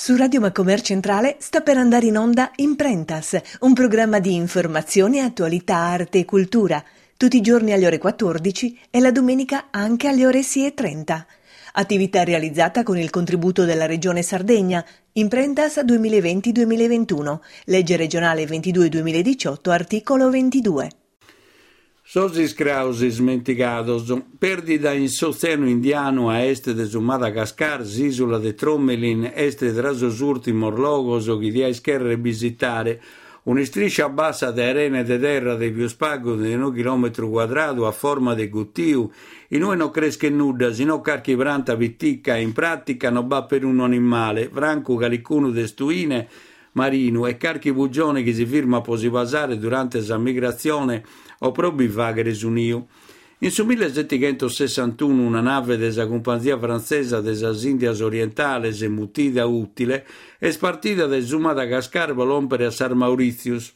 Su Radio Macomer Centrale sta per andare in onda Imprentas, un programma di informazione, attualità, arte e cultura, tutti i giorni alle ore 14 e la domenica anche alle ore 6:30. Attività realizzata con il contributo della Regione Sardegna, Imprentas 2020-2021, legge regionale 22-2018, articolo 22. Sosis crausis menticados, perdida in Oceano Indiano a est de su Madagascar, isula de Tromelin, est de rasos ultimos logos o chi scherre visitare, una striscia bassa di arena e di terra di più spago di 1 chilometro quadrato a forma di guttiu, in cui non cresce nulla, sino carchi branta vitticca, in pratica non va per un animale, franco calicuno de stuine, marino e carchi bugione che si firma per si basare durante la migrazione o probi vaghere su Niu. In su 1761 una nave della compagnia francese delle Indias Orientales e mutida utile è spartita da su Madagascar per l'ompere a San Mauritius.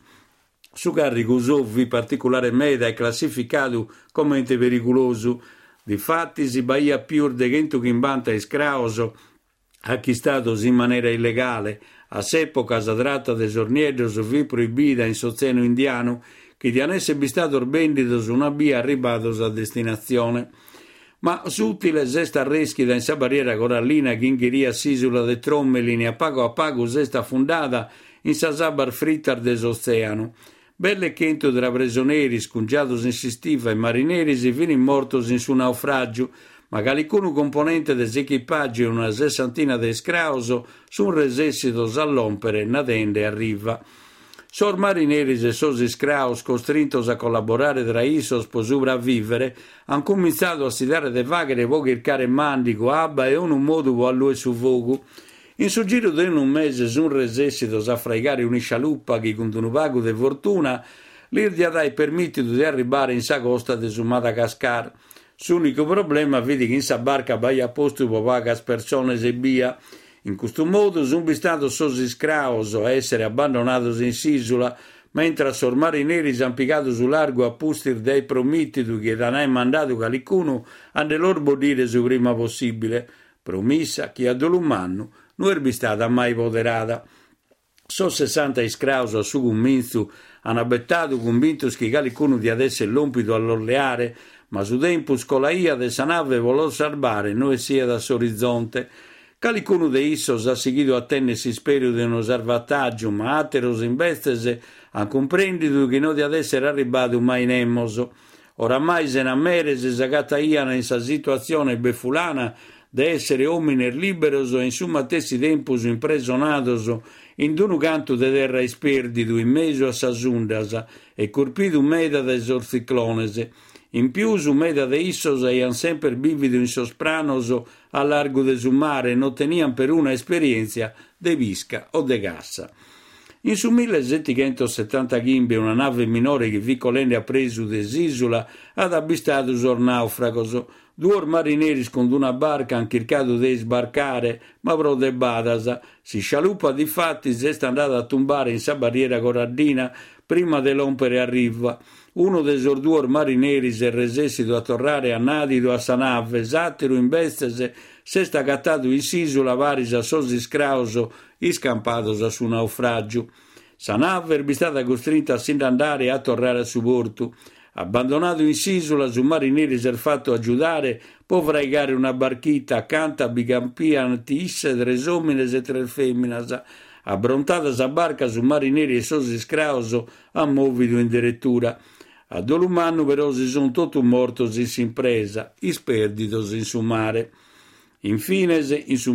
Su carico usovvi particolare meda è classificato come pericoloso. Difatti si baia più de gente che imbanta e scrauso acquistados in maniera illegale. A s'epoca si tratta de sorniedos vi proibita in Oceano Indiano che di anesse bistato orbendidos una via arribados a destinazione. Ma s'utile zesta reschida in sa barriera corallina che ingheria s'isula de Tromelin e a pago zesta fundata in sa sabar frittar des oceano. Belle chento dra presoneri scungiados in sisttiva e marineri si fini mortos in su naufragio, ma calicuno componente des equipaggi e una sessantina de scrauso sun resessidos all'ompere nadende a riva. Sor marineris e sos scraus costrintos a collaborare tra isos per sopravvivere han cominciato a si dare de vaghere voghi il care mandico, abba e un modo a lui su vogu. In su giro di un mese sun resessidos a fraigare una scialuppa che con un vago de fortuna l'irdia dai permittido di arrivare in sa costa de su Madagascar. L'unico problema vedi che in sa barca vai a posto per vagas persone e via. In questo modo sono bistato sos scraus a essere abbandonados in s'isola, mentre sor marineri s'han piccato su largo a pustir dei promittidu che non hai mandato calicuno a loro bodire su prima possibile. Promessa che a dolumanno non è stata mai poderata. So 60 scraus a su comminzu hanno abbettato convintos che calicuno di adesso è l'ompido all'orleare, ma su tempus con la ia de sa nave volò salvare noi sia da s'orizzonte. Calicuno de issos ha seguito a tennersi spero di uno salvataggio, ma ateros in bestese ha comprendido che non di adesso era arrivato mai nemmoso. Oramai se ne ammerese sagataiana in sa situazione befulana de essere ominer liberos e in summa tessi tempus impresonados in d'unu canto de terra isperdido in meso a sa sundas e corpido meda de sorciclonese. In più su meda de issos eian sempre vivido in sospranos a largo de su mare e non tenian per una esperienza de visca o de gassa. In su 1770 ghimbe una nave minore che vicolene ha preso des'isola ad abbistato sor naufragos. Due marineri con una barca han cercato di sbarcare, ma pro de badas. Si scialuppa di fatti s'è andata a tumbare in sa barriera corallina prima dell'ompere a riva. Uno dei due marineri si è resessido a tornare a nadido a sa nave, satiro in bestese, s'è staccattato in s'isola varis a sosi scrauso, iscampados a su naufragio. Sa nave è stata costretta a sin andare a tornare a su porto. Abbandonato in s'isola, su marineri si è fatto aiutare, può fraigare una barchita accanto a bicampian tisse, tres homines e tres femminas. Abbrontata sa barca su marineri e sosi scrauso, ha movido in direttura. A dolumanno però si sono tutti mortos in s'impresa, isperditos in su mare. Infine, in su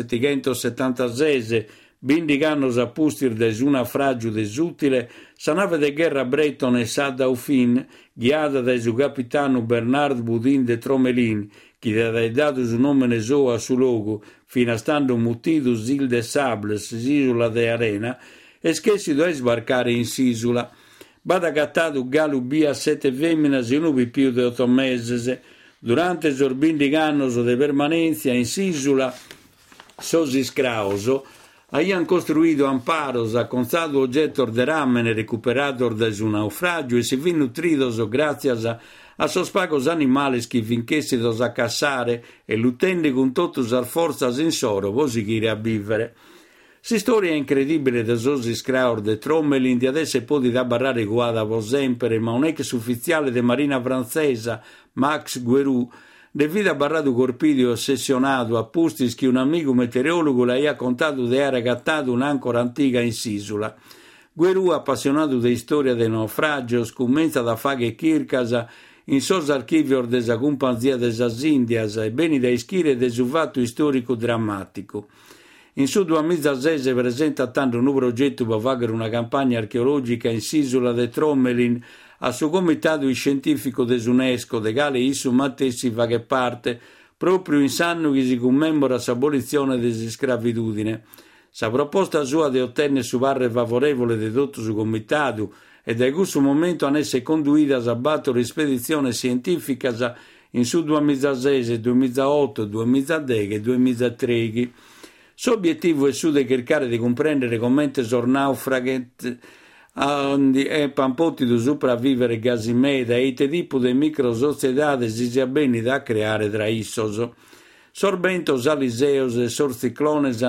1776, bindicannos a pustir de su naufragio desutile, sa nave de guerra Breton e sa Dauphin, guiata da su capitano Bernard Boudin de Tromelin, che ha dato su nome ne so a su logo, fino a stando mutitus il de Sables, isola de Arena, e schessido a sbarcare in s'isola. Bada cattato galubia 7 femmine e non più di 8 mesi. Durante il bindicannos de permanenza in s'isola, sosi scrauso, Habían construido amparos a constado oggetto de ramen recuperados de su naufragio e si fin nutridos gracias a sos pagos animales que finchessidos a cassare e luttende con totus as forzas in soro, vos seguire a vivere. Si storia incredibile de sosi scraur de Trommelin di adesso podi da barrare guada vo sempre, ma un ex ufficiale de marina francesa, Max Guerou, de vida barrado corpidio ossessionato a pustis che un amico meteorologo le ha contato de aver agattato un'ancora antica in Sisula. Guerou, appassionato de storia de naufragio, scommenza da faghe Kirkasa, in sos archivios de sa companzia de sas Indias e beni da ischire de su fatto storico drammatico. In su 2016 presenta tanto un progetto per fare una campagna archeologica in Sisula de Trommelin a suo comitato scientifico dell'UNESCO, de quale isso matessi fa che parte, proprio in anno che si commemora l'abolizione della scravitudine. Sa proposta sua di ottenere su parere favorevole di tutto su comitato e da questo momento hanno essere conduita a battere spedizione scientifica in su 2016, 2008, 2010 e 2013. L'obiettivo è su di cercare di comprendere come sor naufraghi e pampoti di sopravvivere gasimeda e te tipo di microsocietà si sia bene da creare tra issos. Sorbentos aliseos e sor ciclones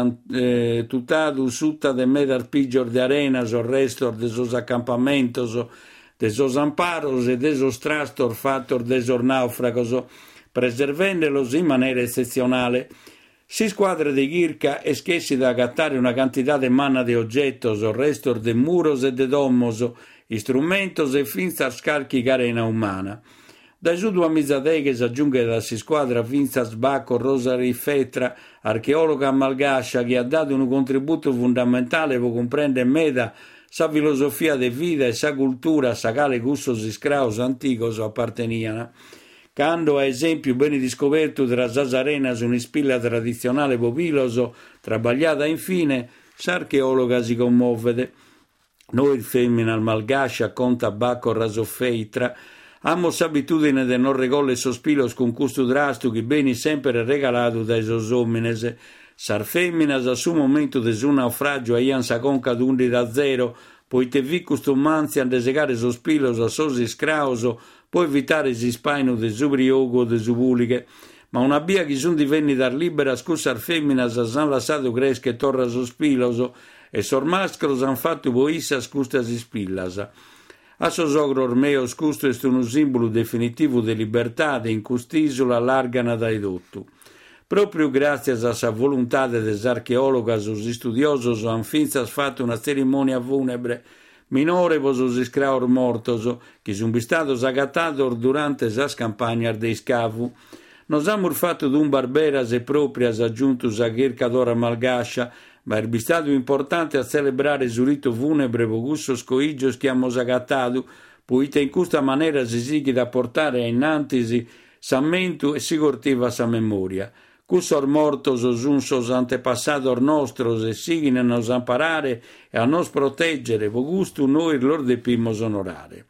tutado sutta de medar piggior de arenas o restor de sos accampamentos de sos amparos e de sos trastor fattor de sor naufragos, preservendolos in maniera eccezionale. Si squadre di Ghirca e schessi da agattare una quantità de manna de oggettos o restor de muros e de domos, istrumentos e finza scarchi carena umana. Dai su 2010 si aggiunge da si squadra Finza Sbacco Rosary Fetra, archeologa malgascia, che ha dato un contributo fondamentale per comprendere meda sa filosofia de vita e sa cultura sa cale gustos iscraus anticos apparteniana. Quando, a esempio, bene riscoperto tra sas arenas un'ispilla tradizionale popiloso, trabagliata infine, s'archeologa si commuovede. Noi femmina malgascia conta Bacco Rasofeitra, amos abitudine de non regolle sospilos con custo drastico beni sempre regalato dai sos homines. Sar femminas a su momento de su naufragio aian sa conca d'undi da zero, poite vi custumanzian de segare sospilos a sos iscrauso, può evitare si spaino de subriogo o de subuliche, ma una bia che sun divenni dar libera scussar femminas s'han lasciato cresche torra sospiloso e sor mascros han fatto boissa scustas ispillas. A sos ogro ormeos custo est un simbolo definitivo de libertà de in cust'isola largana dai dottu. Proprio grazie a sa volontà des archeologas os studiosos han finzas fatto una cerimonia funebre minore vos os iscraur mortos, che sun bistados agattados durante sas campagnas de scavu. Nos amur fatto d'un barberas e proprias aggiuntus a Ghircadora malgascia, ma è stato importante a celebrare su rito funebre vogussos coigios che amos agattadu, poite in questa maniera si sighi da portare innantisi s'ammentu e si cortiva sa memoria. Cussor mortos sun sos antepassados nostros e sighin a nos amparare e a nos proteggere, vo gustu noi lor depimos onorare.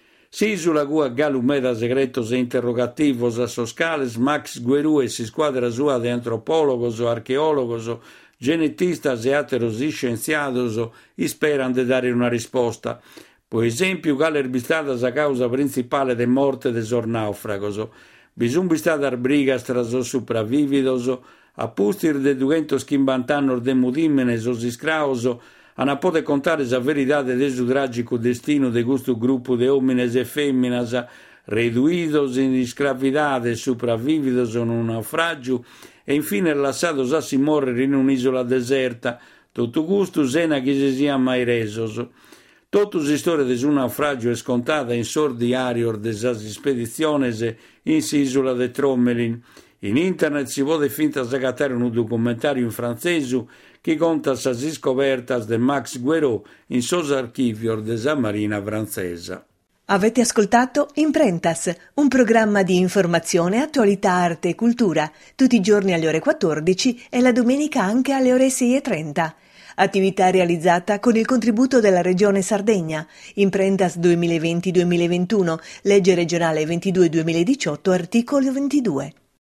Sisula cua galumeda segretos e interrogativos a sos cales Max Guerou e si squadra sua de antropologos o archeologos, genetistas e ateros scienziados isperan de dare una risposta. Per esempio, quale erbistata sa causa principale de morte de sor naufragos. Bisum bistar brigas tras os sopravvividos, a pustir de 250 annos de mudimenes os iscraos, ana pode contare sa veridade de su tragico destino de gusto gruppo de homines e femminas, reduidos in escravidade, sopravvividos in un naufragio e infine lasciados a si morrer in un'isola deserta, tutto gusto sena che si sia mai resos. Totus storia de su naufragio è scontata in sor diario de sas spediciones in Sisula de Trommelin. In internet si può finta sagattare un documentario in francese che conta sas scopertas de Max Guerou in sos archivios de sa marina francesa. Avete ascoltato Imprentas, un programma di informazione, attualità, arte e cultura, tutti i giorni alle ore 14 e la domenica anche alle ore 6:30. Attività realizzata con il contributo della Regione Sardegna. Imprentas 2020-2021, legge regionale 22-2018, articolo 22.